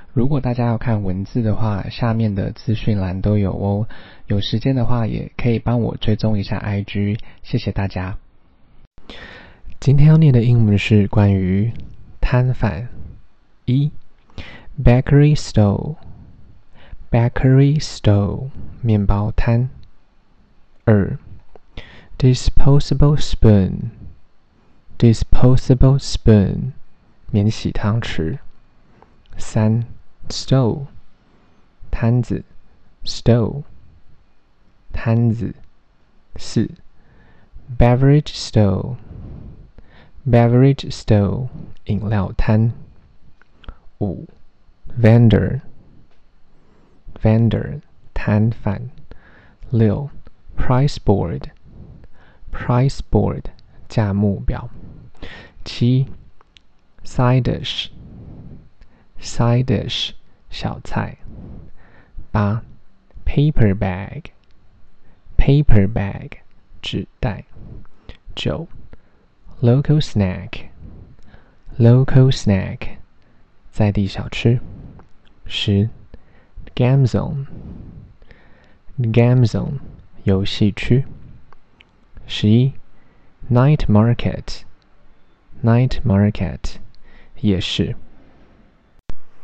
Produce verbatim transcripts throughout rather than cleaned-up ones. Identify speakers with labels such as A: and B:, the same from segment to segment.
A: 如果大家要看文字的話，下面的資訊欄都有哦。有時間的話，也可以幫我追蹤一下 I G， 謝謝大家。今天要念的英文是關於攤販。一 Bakery stall Bakery stall 麵包攤。二 Disposable spoon Disposable spoon 免洗湯匙。三 Stall 攤子 Stall 攤子。四 Beverage stall Beverage stall 飲料攤。五 Vendor Vendor 攤販。六 Price board Price board 價目表。七 Side dish Side dish 小菜。八 Paper bag Paper bag 紙袋。九 Local snack Local snack 在地小吃。十 Game zone Game zone 遊戲區。十一 Night market Night market 夜市。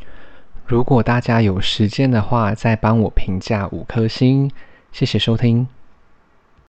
A: 如果大家有時間的話，再幫我評價五顆星，謝謝收聽。